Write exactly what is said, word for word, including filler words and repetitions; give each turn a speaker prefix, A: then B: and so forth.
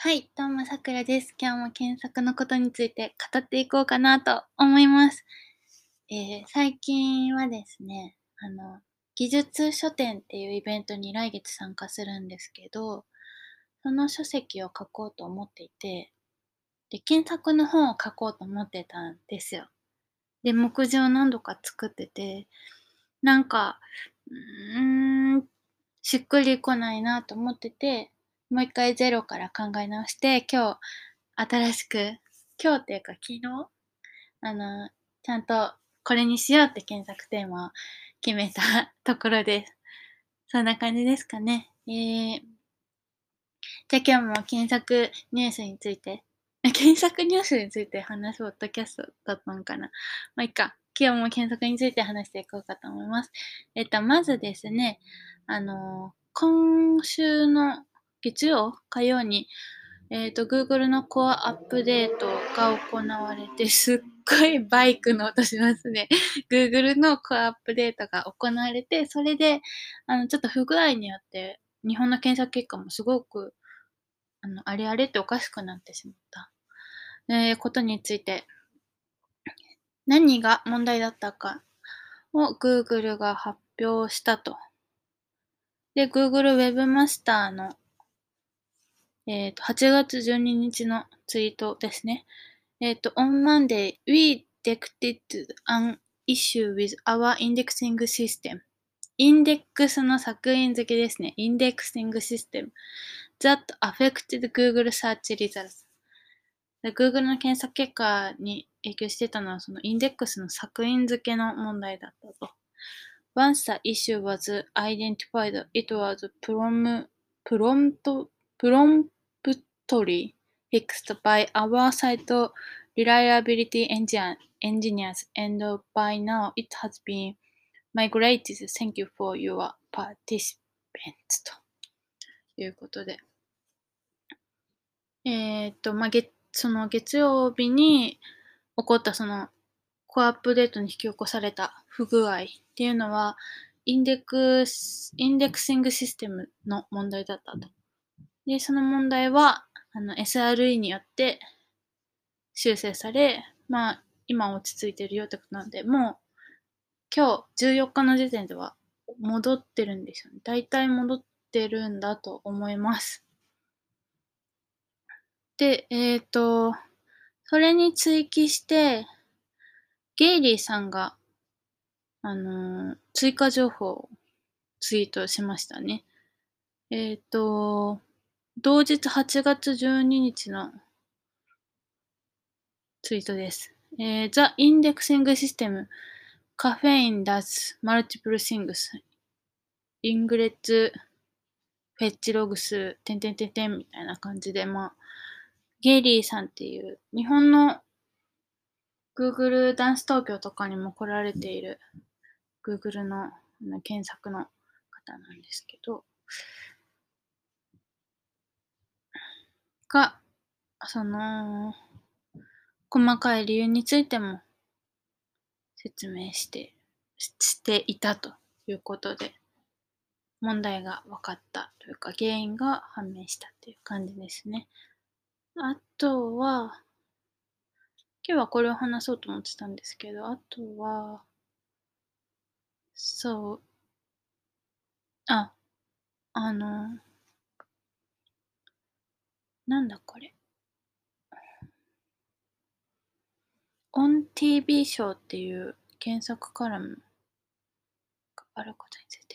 A: はい、どうもさくらです。今日も検索のことについて語っていこうかなと思います。えー、最近はですね、あの、技術書店っていうイベントに来月参加するんですけど、その書籍を書こうと思っていて、で、検索の本を書こうと思ってたんですよ。で、目次を何度か作ってて、なんか、うーん、しっくりこないなと思ってて、もう一回ゼロから考え直して、今日新しく、今日っていうか昨日、あの、ちゃんとこれにしようって検索テーマを決めたところです。そんな感じですかね。えー、じゃあ今日も検索ニュースについて、検索ニュースについて話すポッドキャストだったのかな。まあ、いいか。今日も検索について話していこうかと思います。えっと、まずですね、あの、今週の月曜、火曜に、えっと、Google のコアアップデートが行われて、すっごいバイクの音しますね。Google のコアアップデートが行われて、それで、あの、ちょっと不具合によって、日本の検索結果もすごく、あの、あれあれっておかしくなってしまった、えーことについて、何が問題だったかを Google が発表したと。で、Google Webmaster の、えっと、はちがつじゅうににちのツイートですね。えっと、on Monday, we detected an issue with our indexing system. インデックスの作品付けですね。インデックシングシステム that affected Google search results. Google の検索結果に影響してたのは、そのインデックスの作品付けの問題だったと。Once the issue was identified, it was prom- prompt- promptly fixed by our site reliability engineer- engineers, and by now it has been migrated. Thank you for your participants. ということで。えーっと、まあ、月、その月曜日に起こったそのコアアップデートに引き起こされた不具合っていうのは、インデックス、インデクシングシステムの問題だったと。で、その問題は、あの、エスアールイー によって修正され、まあ、今落ち着いてるよってことなんで、もう、今日じゅうよっかの時点では戻ってるんですよね。大体戻ってるんだと思います。で、えっと、それに追記して、ゲイリーさんが、あのー追加情報をツイートしましたね。えっと、同日はちがつじゅうににちのツイートです。えー、The Indexing System Caffeine does multiple things. イングレッツフェッチログス、てんてんてんてんみたいな感じで、まあ、ゲイリーさんっていう日本の Google ダンス東京とかにも来られている Google の検索の方なんですけど、が、その、細かい理由についても説明して、していたということで、問題が分かったというか、原因が判明したという感じですね。あとは、今日はこれを話そうと思ってたんですけど、あとは、そう、あ、あの、なんだこれ。オン ティービー 賞っていう検索カラムがあることについて